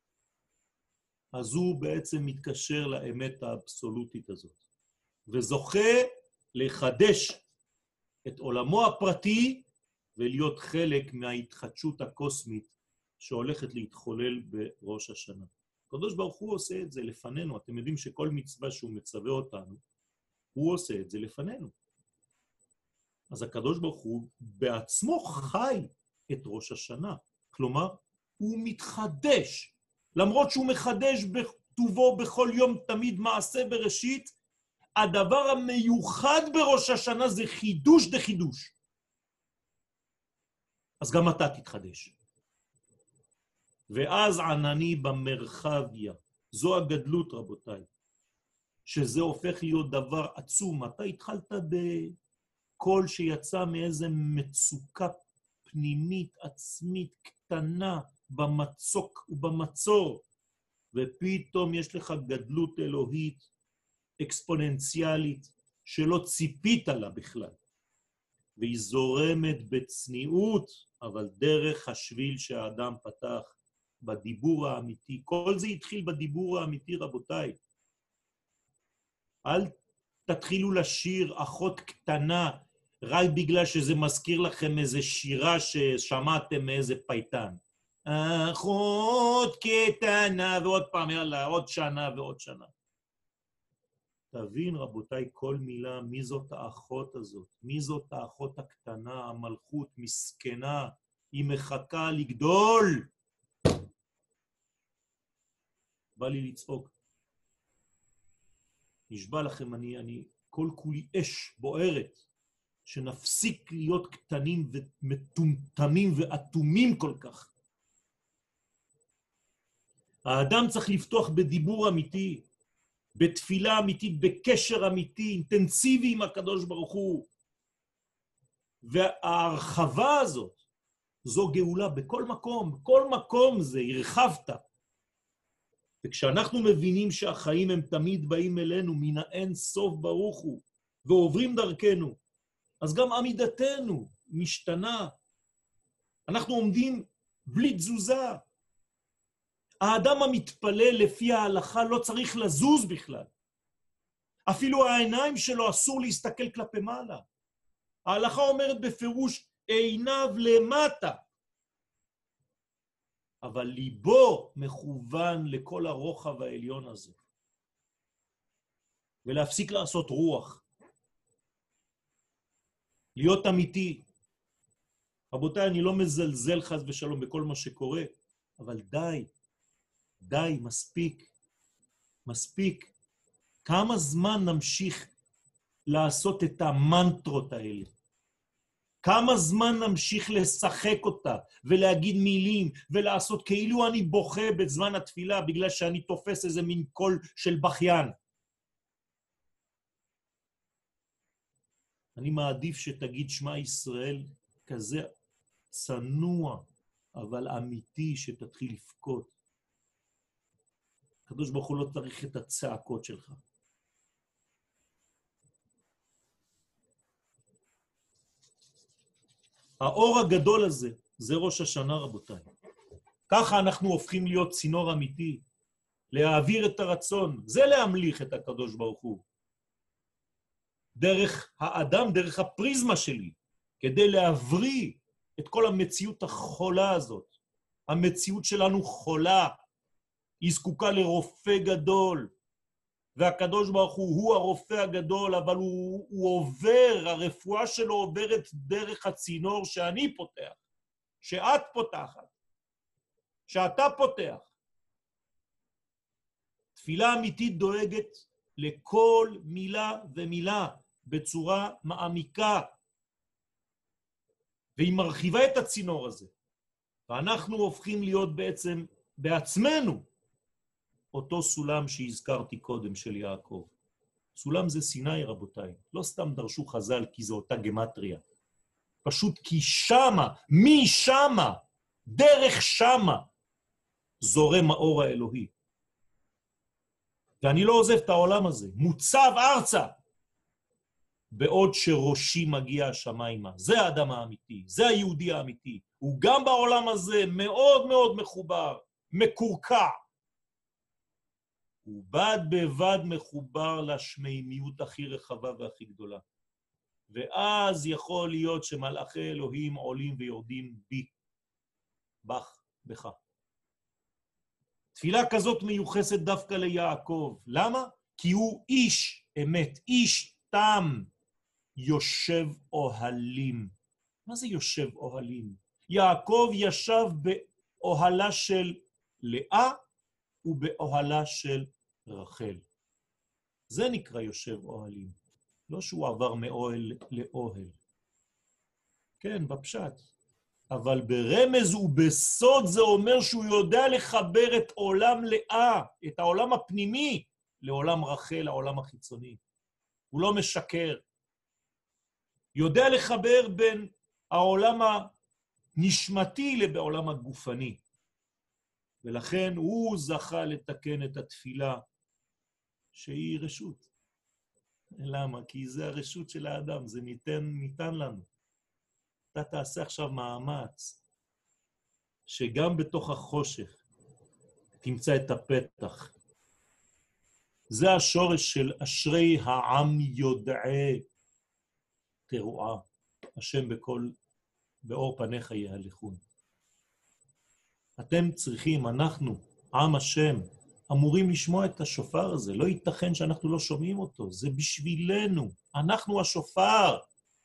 אז הוא בעצם מתקשר לאמת האבסולוטית הזאת, וזוכה לחדש את עולמו הפרטי, ולהיות חלק מההתחדשות הקוסמית שהולכת להתחולל בראש השנה. הקדוש ברוך הוא עושה את זה לפנינו. אתם יודעים שכל מצווה שהוא מצווה אותנו, הוא עושה את זה לפנינו. אז הקדוש ברוך הוא בעצמו חי את ראש השנה. כלומר, הוא מתחדש. למרות שהוא מחדש בכתובו בכל יום תמיד מעשה בראשית, הדבר המיוחד בראש השנה זה חידוש דה חידוש. אז גם אתה תתחדש. ואז ענני במרחביה. זו הגדלות, רבותיי. שזה הופך להיות דבר עצום. אתה התחלת בקול שיצא מאיזה מצוקה פנימית, עצמית, קטנה, במצוק ובמצור. ופתאום יש לך גדלות אלוהית, אקספוננציאלית, שלא ציפית לה בכלל. והיא זורמת בצניעות, אבל דרך השביל שהאדם פתח, בדיבור האמיתי. כל זה התחיל בדיבור האמיתי, רבותיי. אל תתחילו לשיר אחות קטנה, רק בגלל שזה מזכיר לכם איזה שירה ששמעתם מאיזה פייטן. אחות קטנה, ועוד פעם, יאללה, עוד שנה ועוד שנה. תבין, רבותיי, כל מילה, מי זאת האחות הזאת? מי זאת האחות הקטנה, המלכות, מסכנה, היא מחכה לגדול. בא לי לצעוק. נשבע לכם, אני, אני, כל כולי אש בוערת, שנפסיק להיות קטנים ומטומטמים ואטומים כל כך. האדם צריך לפתוח בדיבור אמיתי, בתפילה אמיתית, בקשר אמיתי, אינטנסיבי עם הקדוש ברוך הוא. וההרחבה הזאת, זו גאולה בכל מקום, בכל מקום זה, הרחבת. וכשאנחנו מבינים שהחיים הם תמיד באים אלינו, מן האין סוף ברוך הוא, ועוברים דרכנו, אז גם עמידתנו משתנה. אנחנו עומדים בלי תזוזה. האדם המתפלל לפי ההלכה לא צריך לזוז בכלל. אפילו העיניים שלו אסור להסתכל כלפי מעלה. ההלכה אומרת בפירוש עיניו למטה. אבל ליבו מכוון לכל הרוחב העליון הזה. ולהפסיק לעשות רוח. להיות אמיתי. רבותיי, אני לא מזלזל חס ושלום בכל מה שקורה, אבל די, די, מספיק, מספיק. כמה זמן נמשיך לעשות את המנטרות האלה? כמה זמן נמשיך לשחק אותה ולהגיד מילים ולעשות כאילו אני בוכה בזמן התפילה בגלל שאני תופס איזה מין קול של בכיין? אני מעדיף שתגיד שמע ישראל כזה צנוע, אבל אמיתי, שתתחיל לפקוד. הקדוש ברוך הוא לא צריך את הצעקות שלך. האור הגדול הזה, זה ראש השנה רבותיי. ככה אנחנו הופכים להיות צינור אמיתי, להעביר את הרצון, זה להמליך את הקדוש ברוך הוא. דרך האדם, דרך הפריזמה שלי, כדי להבריא את כל המציאות החולה הזאת. המציאות שלנו חולה, היא זקוקה לרופא גדול, והקדוש ברוך הוא הוא הרופא הגדול, אבל הוא, הוא עובר, הרפואה שלו עוברת דרך הצינור שאני פותח, שאת פותחת, שאתה פותח. תפילה אמיתית דואגת לכל מילה ומילה בצורה מעמיקה, והיא מרחיבה את הצינור הזה, ואנחנו הופכים להיות בעצם בעצמנו אותו סולם שהזכרתי קודם של יעקב. סולם זה סיני רבותיי, לא סתם דרשו חז"ל כי זו אותה גמטריה, פשוט כי שמה, מי שמה, דרך שמה, זורם האור האלוהי. ואני לא עוזב את העולם הזה, מוצב ארצה, בעוד שראשי מגיע השמיימה. זה האדם האמיתי, זה היהודי האמיתי. הוא גם בעולם הזה מאוד מאוד מחובר, מקורקע. הוא בד בבד מחובר לשמימיות הכי רחבה והכי גדולה. ואז יכול להיות שמלאכי אלוהים עולים ויורדים בי, בך, בך. תפילה כזאת מיוחסת דווקא ליעקב. למה? כי הוא איש אמת, איש תם, יושב אוהלים. מה זה יושב אוהלים? יעקב ישב באוהלה של לאה ובאוהלה של רחל. זה נקרא יושב אוהלים. לא שהוא עבר מאוהל לאוהל. כן, בפשט. אבל ברמז ובסוד זה אומר שהוא יודע לחבר את עולם לאה, את העולם הפנימי, לעולם רחל, העולם החיצוני. הוא לא משקר. יודע לחבר בין העולם הנשמתי לבעולם הגופני. ולכן הוא זכה לתקן את התפילה שהיא רשות. למה? כי זה הרשות של האדם, זה ניתן, ניתן לנו. אתה תעשה עכשיו מאמץ, שגם בתוך החושך תמצא את הפתח. זה השורש של אשרי העם יודעי תרועה, השם בכל, באור פניך יהלכון. אתם צריכים, אנחנו, עם השם, אמורים לשמוע את השופר הזה. לא ייתכן שאנחנו לא שומעים אותו. זה בשבילנו. אנחנו השופר.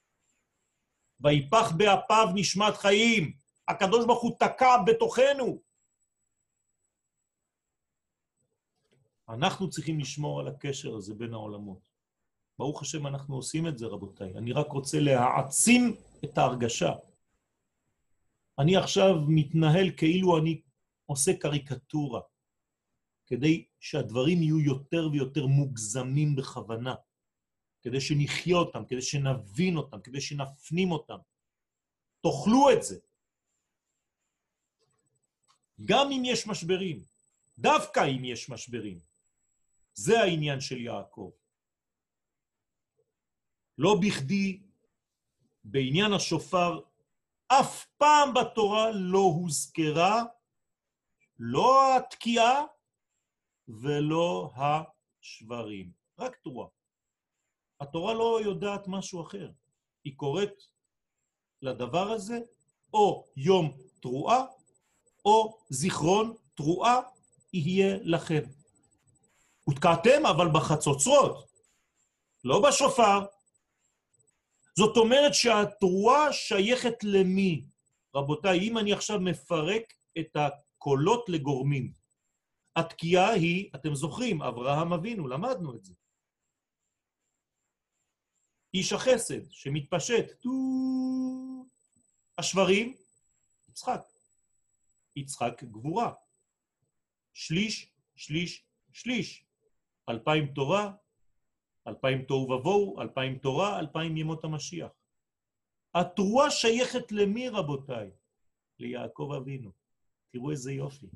ויפח באפיו נשמת חיים. הקדוש ברוך הוא תקע בתוכנו. אנחנו צריכים לשמור על הקשר הזה בין העולמות. ברוך השם אנחנו עושים את זה רבותיי. אני רק רוצה להעצים את ההרגשה. אני עכשיו מתנהל כאילו אני עושה קריקטורה, כדי שהדברים יהיו יותר ויותר מוגזמים בכוונה, כדי שנחיה אותם, כדי שנבין אותם, כדי שנפנים אותם. תאכלו את זה. גם אם יש משברים, דווקא אם יש משברים. זה העניין של יעקב. לא בכדי בעניין השופר, אף פעם בתורה לא הוזכרה, לא התקיעה ולא השברים. רק תרועה. התורה לא יודעת משהו אחר. היא קוראת לדבר הזה, או יום תרועה, או זיכרון תרועה יהיה לכם. ותקעתם אבל בחצוצרות, לא בשופר. זאת אומרת שהתרועה שייכת למי? רבותיי, אם אני עכשיו מפרק את קולות לגורמים. התקיעה היא, אתם זוכרים, אברהם אבינו, למדנו את זה. איש החסד שמתפשט, טו... השברים, יצחק. יצחק גבורה. שליש, שליש, שליש. אלפיים תורה, אלפיים תוהו ובוהו, אלפיים תורה, אלפיים ימות המשיח. התרועה שייכת למי רבותיי? ליעקב אבינו. תראו איזה יופי.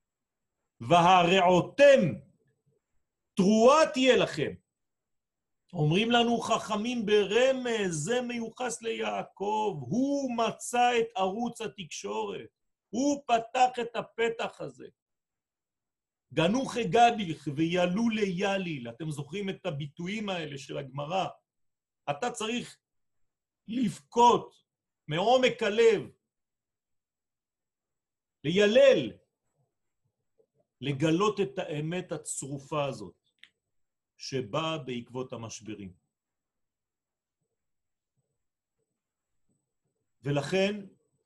והרעותם, תרועה תהיה לכם. אומרים לנו חכמים ברמז, זה מיוחס ליעקב, הוא מצא את ערוץ התקשורת, הוא פתח את הפתח הזה. גנוך גדיך וילו ליליל, אתם זוכרים את הביטויים האלה של הגמרא, אתה צריך לבכות מעומק הלב, לילל, לגלות את האמת הצרופה הזאת, שבאה בעקבות המשברים. ולכן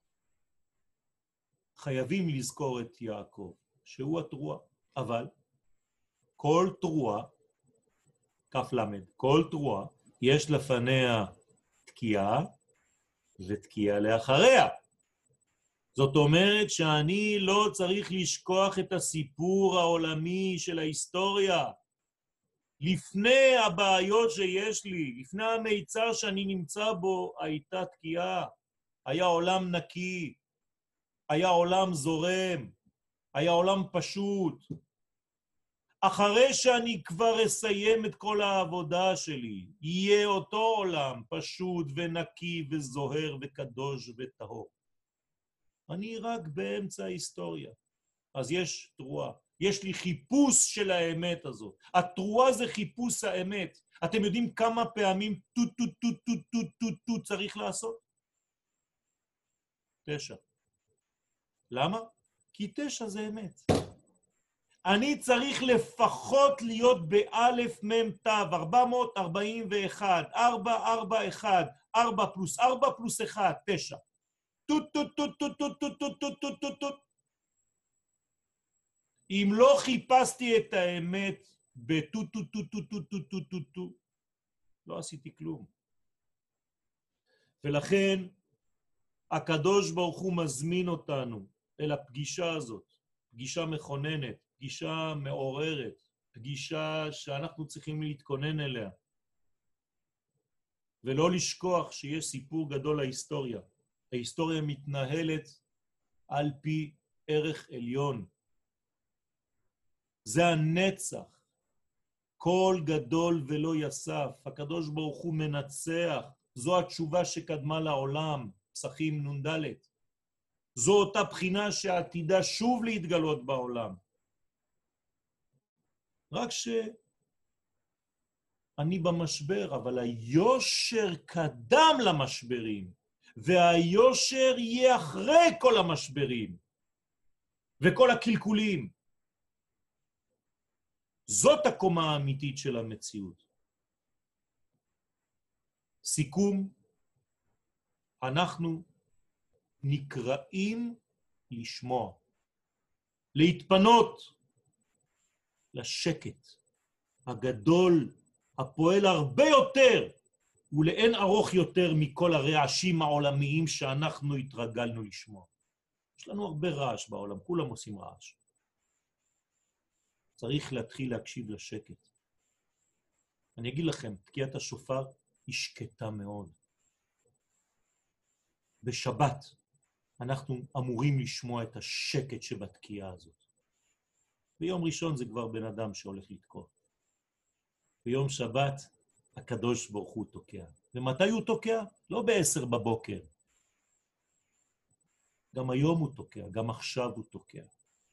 חייבים לזכור את יעקב, שהוא התרועה. אבל כל תרועה, כף למד, כל תרועה, יש לפניה תקיעה ותקיעה לאחריה. זאת אומרת שאני לא צריך לשכוח את הסיפור העולמי של ההיסטוריה. לפני הבעיות שיש לי, לפני המיצר שאני נמצא בו, הייתה תקיעה, היה עולם נקי, היה עולם זורם, היה עולם פשוט. אחרי שאני כבר אסיים את כל העבודה שלי, יהיה אותו עולם פשוט ונקי וזוהר וקדוש וטהור. אני רק באמצע ההיסטוריה. אז יש תרועה. יש לי חיפוש של האמת הזאת. התרועה זה חיפוש האמת. אתם יודעים כמה פעמים טו טו טו טו טו טו טו צריך לעשות? תשע. למה? כי תשע זה אמת. אני צריך לפחות להיות באלף מם תו, ארבע מאות ארבעים ואחת, ארבע ארבע אחת, ארבע פלוס ארבע פלוס אחת, תשע. טו טו טו טו טו טו טו טו טו טו טו. אם לא חיפשתי את האמת בטו טו טו טו טו טו טו טו טו, לא עשיתי כלום. ולכן הקדוש ברוך הוא מזמין אותנו אל הפגישה הזאת, פגישה מכוננת, פגישה מעוררת, פגישה שאנחנו צריכים להתכונן אליה. ולא לשכוח שיש סיפור גדול להיסטוריה. ההיסטוריה מתנהלת על פי ערך עליון. זה הנצח. כל גדול ולא יסף. הקדוש ברוך הוא מנצח. זו התשובה שקדמה לעולם. פסחים נ"ד. זו אותה בחינה שעתידה שוב להתגלות בעולם. רק שאני במשבר, אבל היושר קדם למשברים, והיושר יהיה אחרי כל המשברים, וכל הקלקולים. זאת הקומה האמיתית של המציאות. סיכום, אנחנו נקראים לשמוע, להתפנות לשקט הגדול, הפועל הרבה יותר ולאין ארוך יותר מכל הרעשים העולמיים שאנחנו התרגלנו לשמוע. יש לנו הרבה רעש בעולם, כולם עושים רעש. צריך להתחיל להקשיב לשקט. אני אגיד לכם, תקיעת השופר היא שקטה מאוד. בשבת אנחנו אמורים לשמוע את השקט שבתקיעה הזאת. ביום ראשון זה כבר בן אדם שהולך לתקוע. ביום שבת הקדוש ברוך הוא תוקע. ומתי הוא תוקע? לא בעשר בבוקר. גם היום הוא תוקע, גם עכשיו הוא תוקע.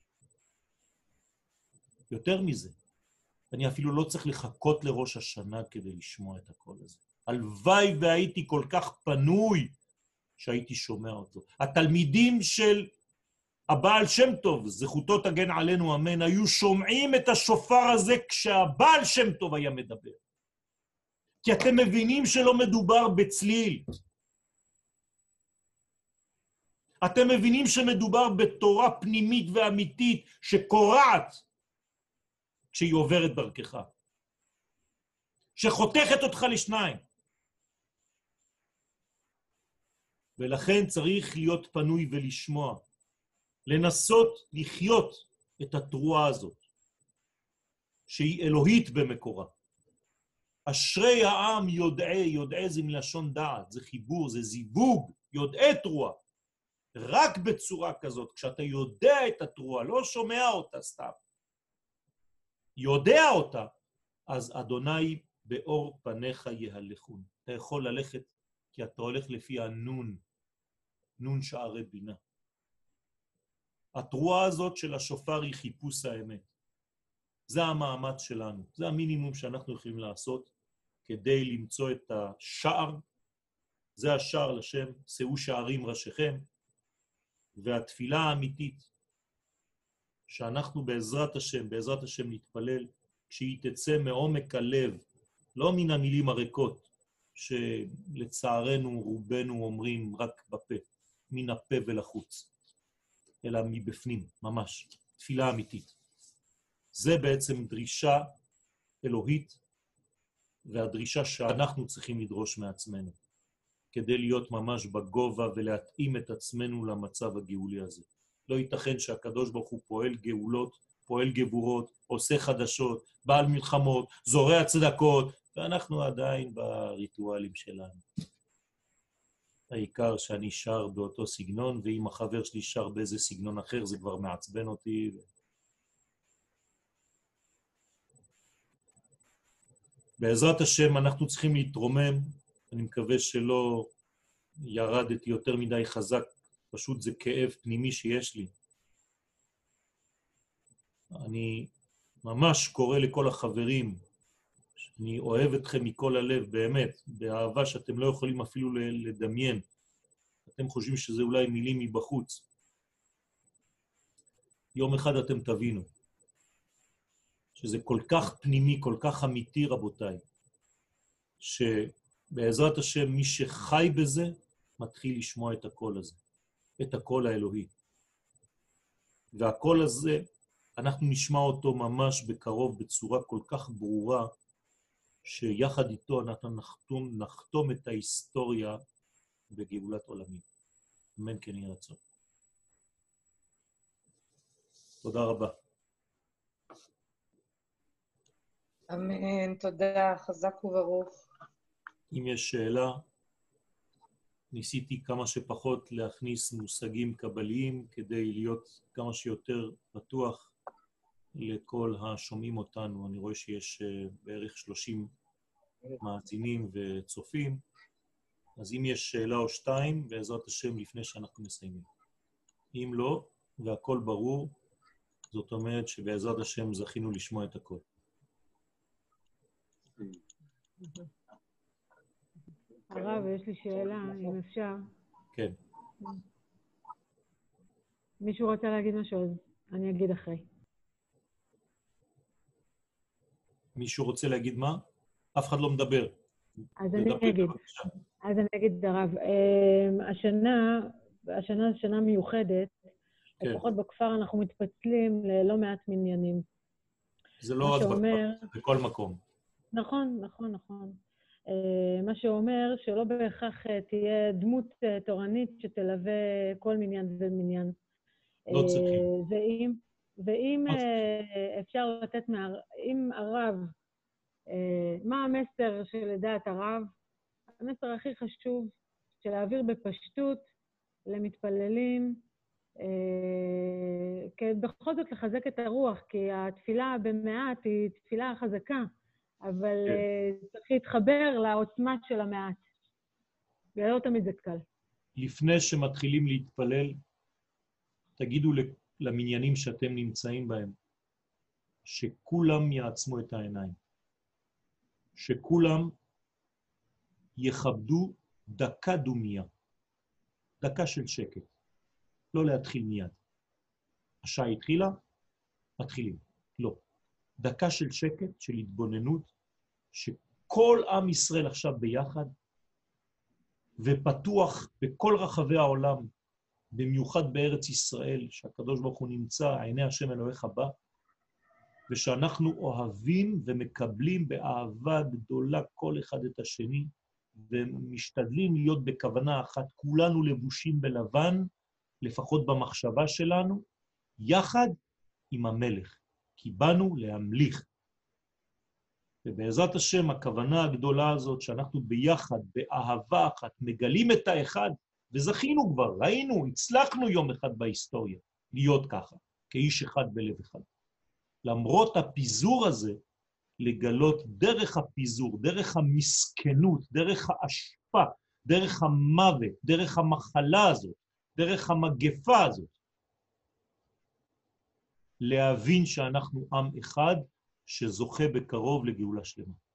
יותר מזה, אני אפילו לא צריך לחכות לראש השנה כדי לשמוע את הקול הזה. הלוואי והייתי כל כך פנוי שהייתי שומע אותו. התלמידים של הבעל שם טוב, זכותו תגן עלינו אמן, היו שומעים את השופר הזה כשהבעל שם טוב היה מדבר. כי אתם מבינים שלא מדובר בצליל. אתם מבינים שמדובר בתורה פנימית ואמיתית שקורעת כשהיא עוברת דרכך, שחותכת אותך לשניים. ולכן צריך להיות פנוי ולשמוע, לנסות לחיות את התרועה הזאת, שהיא אלוהית במקורה. אשרי העם יודעי, יודעי זה מלשון דעת, זה חיבור, זה זיווג, יודעי תרועה. רק בצורה כזאת, כשאתה יודע את התרועה, לא שומע אותה סתם, יודע אותה, אז אדוני באור פניך יהלכון. אתה יכול ללכת, כי אתה הולך לפי הנון, נון שערי בינה. התרועה הזאת של השופר היא חיפוש האמת. זה המאמץ שלנו, זה המינימום שאנחנו יכולים לעשות כדי למצוא את השער, זה השער לשם, שאו שערים ראשיכם, והתפילה האמיתית שאנחנו בעזרת השם, בעזרת השם נתפלל, כשהיא תצא מעומק הלב, לא מן המילים הריקות, שלצערנו רובנו אומרים רק בפה, מן הפה ולחוץ, אלא מבפנים, ממש, תפילה אמיתית. זה בעצם דרישה אלוהית, והדרישה שאנחנו צריכים לדרוש מעצמנו, כדי להיות ממש בגובה ולהתאים את עצמנו למצב הגאולי הזה. לא ייתכן שהקדוש ברוך הוא פועל גאולות, פועל גבורות, עושה חדשות, בעל מלחמות, זורע צדקות, ואנחנו עדיין בריטואלים שלנו. העיקר שאני שר באותו סגנון, ואם החבר שלי שר באיזה סגנון אחר, זה כבר מעצבן אותי. בעזרת השם אנחנו צריכים להתרומם, אני מקווה שלא ירדתי יותר מדי חזק, פשוט זה כאב פנימי שיש לי. אני ממש קורא לכל החברים, אני אוהב אתכם מכל הלב, באמת, באהבה שאתם לא יכולים אפילו לדמיין. אתם חושבים שזה אולי מילים מבחוץ. יום אחד אתם תבינו, שזה כל כך פנימי, כל כך אמיתי, רבותיי, שבעזרת השם מי שחי בזה, מתחיל לשמוע את הקול הזה, את הקול האלוהי. והקול הזה, אנחנו נשמע אותו ממש בקרוב, בצורה כל כך ברורה, שיחד איתו אנחנו נחתום, נחתום את ההיסטוריה בגאולת עולמים. אמן כן יהי רצון. תודה רבה. אמן, תודה, חזק וברוך. אם יש שאלה, ניסיתי כמה שפחות להכניס מושגים קבליים כדי להיות כמה שיותר פתוח לכל השומעים אותנו. אני רואה שיש בערך שלושים מאזינים וצופים, אז אם יש שאלה או שתיים, בעזרת השם לפני שאנחנו מסיימים. אם לא, והכל ברור, זאת אומרת שבעזרת השם זכינו לשמוע את הכל. הרב, יש לי שאלה, אם אפשר. כן. מישהו רוצה להגיד משהו, אז אני אגיד אחרי. מישהו רוצה להגיד מה? אף אחד לא מדבר. אז אני אגיד. אז אני אגיד, הרב. השנה, השנה זו שנה מיוחדת, לפחות בכפר אנחנו מתפצלים ללא מעט מניינים. זה לא רק בכפר, זה בכל מקום. נכון, נכון, נכון. מה שאומר שלא בהכרח תהיה דמות תורנית שתלווה כל מניין ומניין. לא צריכים. ואם, ואם אפשר לתת, אם הרב, מה המסר שלדעת הרב? המסר הכי חשוב של להעביר בפשטות למתפללים, בכל זאת לחזק את הרוח, כי התפילה במעט היא תפילה חזקה, אבל צריך להתחבר לעוצמה של המעט. ולא תמיד זה קל. לפני שמתחילים להתפלל, תגידו למניינים שאתם נמצאים בהם, שכולם יעצמו את העיניים. שכולם יכבדו דקה דומיה. דקה של שקט. לא להתחיל מיד. השעה התחילה, מתחילים. לא. דקה של שקט, של התבוננות, שכל עם ישראל עכשיו ביחד, ופתוח בכל רחבי העולם, במיוחד בארץ ישראל, שהקדוש ברוך הוא נמצא, עיני השם אלוהיך בא, ושאנחנו אוהבים ומקבלים באהבה גדולה כל אחד את השני, ומשתדלים להיות בכוונה אחת, כולנו לבושים בלבן, לפחות במחשבה שלנו, יחד עם המלך, כי באנו להמליך. ובעזרת השם, הכוונה הגדולה הזאת, שאנחנו ביחד, באהבה אחת, מגלים את האחד, וזכינו כבר, ראינו, הצלחנו יום אחד בהיסטוריה, להיות ככה, כאיש אחד בלב אחד. למרות הפיזור הזה, לגלות דרך הפיזור, דרך המסכנות, דרך האשפה, דרך המוות, דרך המחלה הזאת, דרך המגפה הזאת, להבין שאנחנו עם אחד שזוכה בקרוב לגאולה שלמה.